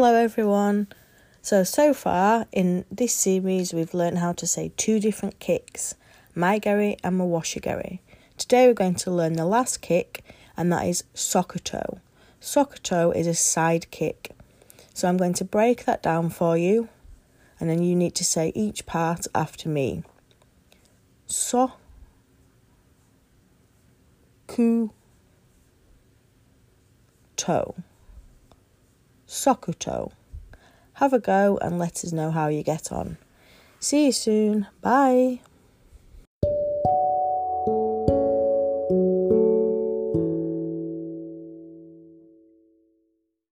Hello everyone. So far in this series we've learned how to say two different kicks, maigari and mawashigari. Today we're going to learn the last kick, and that is sokoto. Sokoto is a side kick. So I'm going to break that down for you, and then you need to say each part after me. So, ku, to. Sokoto. Have a go and let us know how you get on. See you soon. Bye.